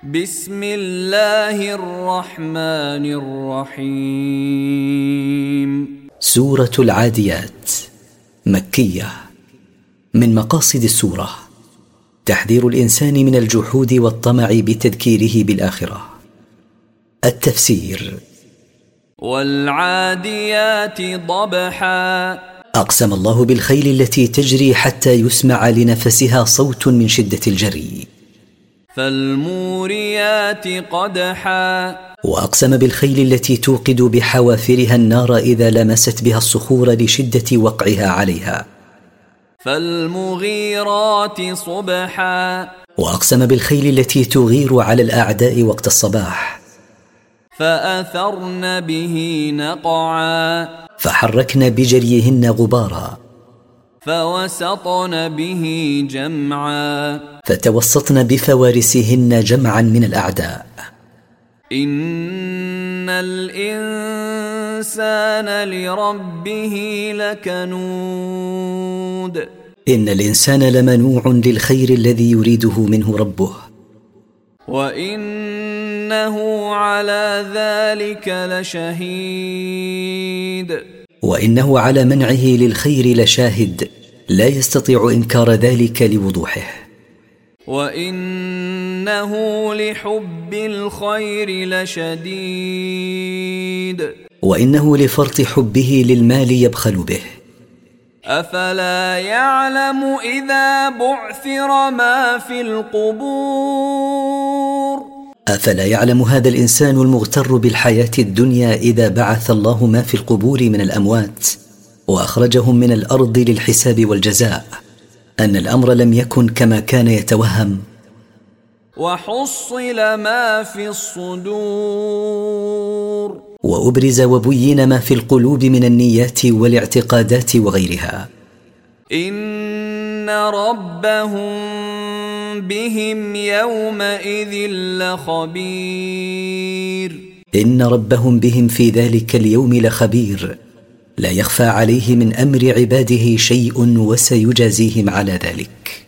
بسم الله الرحمن الرحيم. سورة العاديات مكية. من مقاصد السورة تحذير الإنسان من الجحود والطمع بتذكيره بالآخرة. التفسير: والعاديات ضبحا. أقسم الله بالخيل التي تجري حتى يسمع لنفسها صوت من شدة الجري. فالموريات قدحا. وأقسم بالخيل التي توقد بحوافرها النار إذا لمست بها الصخور لشدة وقعها عليها. فالمغيرات صبحا. وأقسم بالخيل التي تغير على الأعداء وقت الصباح. فأثرن به نقعا. فحركن بجريهن غبارا. فوسطن به جمعا. فتوسطن بفوارسهن جمعا من الأعداء. إن الإنسان لربه لكنود. إن الإنسان لمنوع للخير الذي يريده منه ربه. وإنه على ذلك لشهيد. وإنه على منعه للخير لشاهد، لا يستطيع إنكار ذلك لوضوحه. وإنه لحب الخير لشديد. وإنه لفرط حبه للمال يبخل به. أفلا يعلم إذا بعثر ما في القبور. أفلا يعلم هذا الإنسان المغتر بالحياة الدنيا إذا بعث الله ما في القبور من الأموات وأخرجهم من الأرض للحساب والجزاء أن الأمر لم يكن كما كان يتوهم. وحصل ما في الصدور. وأبرز وبين ما في القلوب من النيات والاعتقادات وغيرها. إن ربهم بهم يومئذ لخبير. إن ربهم بهم في ذلك اليوم لخبير، لا يخفى عليه من أمر عباده شيء وسيجازيهم على ذلك.